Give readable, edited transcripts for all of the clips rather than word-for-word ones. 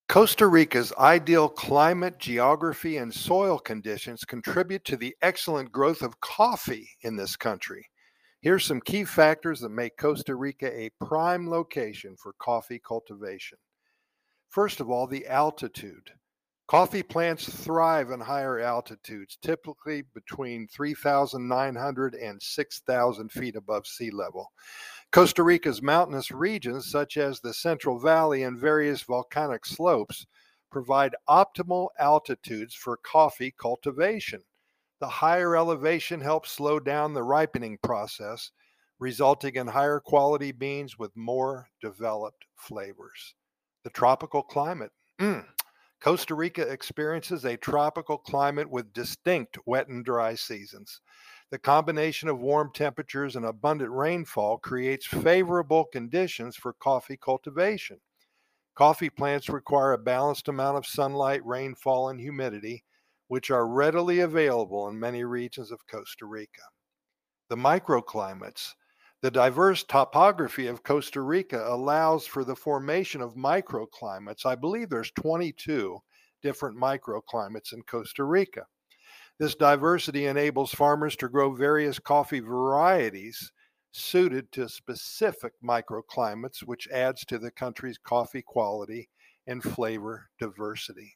Costa Rica's ideal climate, geography, and soil conditions contribute to the excellent growth of coffee in this country. Here's some key factors that make Costa Rica a prime location for coffee cultivation. First of all, the altitude. Coffee plants thrive in higher altitudes, typically between 3,900 and 6,000 feet above sea level. Costa Rica's mountainous regions, such as the Central Valley and various volcanic slopes, provide optimal altitudes for coffee cultivation. The higher elevation helps slow down the ripening process, resulting in higher quality beans with more developed flavors. The tropical climate. Costa Rica experiences a tropical climate with distinct wet and dry seasons. The combination of warm temperatures and abundant rainfall creates favorable conditions for coffee cultivation. Coffee plants require a balanced amount of sunlight, rainfall, and humidity, which are readily available in many regions of Costa Rica. The microclimates. The diverse topography of Costa Rica allows for the formation of microclimates. I believe there's 22 different microclimates in Costa Rica. This diversity enables farmers to grow various coffee varieties suited to specific microclimates, which adds to the country's coffee quality and flavor diversity.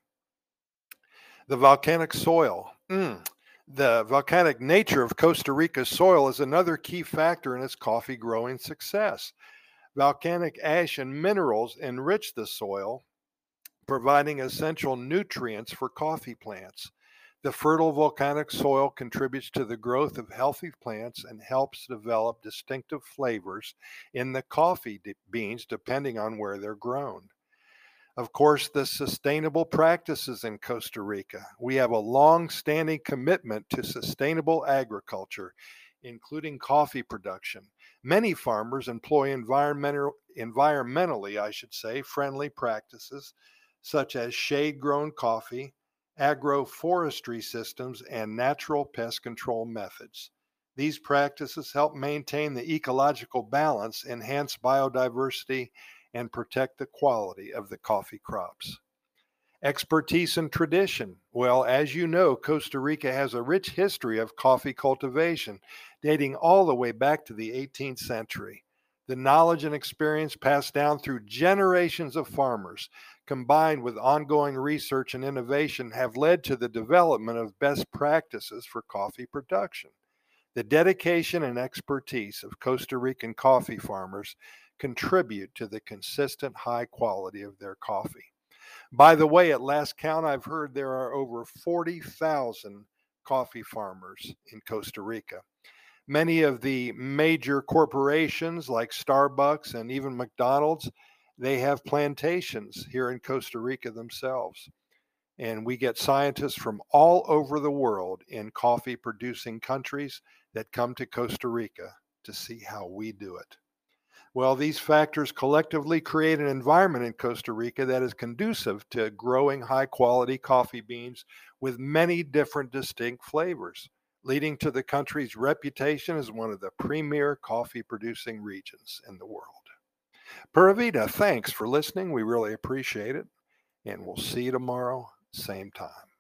The volcanic soil. The volcanic nature of Costa Rica's soil is another key factor in its coffee growing success. Volcanic ash and minerals enrich the soil, providing essential nutrients for coffee plants. The fertile volcanic soil contributes to the growth of healthy plants and helps develop distinctive flavors in the coffee beans depending on where they're grown. Of course, the sustainable practices in Costa Rica. We have a long-standing commitment to sustainable agriculture, including coffee production. Many farmers employ environmentally, friendly practices such as shade-grown coffee, agroforestry systems, and natural pest control methods. These practices help maintain the ecological balance, enhance biodiversity, and protect the quality of the coffee crops. Expertise and tradition. Well, as you know, Costa Rica has a rich history of coffee cultivation dating all the way back to the 18th century. The knowledge and experience passed down through generations of farmers, combined with ongoing research and innovation, have led to the development of best practices for coffee production. The dedication and expertise of Costa Rican coffee farmers contribute to the consistent high quality of their coffee. By the way, at last count, I've heard there are over 40,000 coffee farmers in Costa Rica. Many of the major corporations like Starbucks and even McDonald's, they have plantations here in Costa Rica themselves. And we get scientists from all over the world in coffee producing countries that come to Costa Rica to see how we do it. Well, these factors collectively create an environment in Costa Rica that is conducive to growing high quality coffee beans with many different distinct flavors, leading to the country's reputation as one of the premier coffee producing regions in the world. Pura Vida, thanks for listening. We really appreciate it. And we'll see you tomorrow, same time.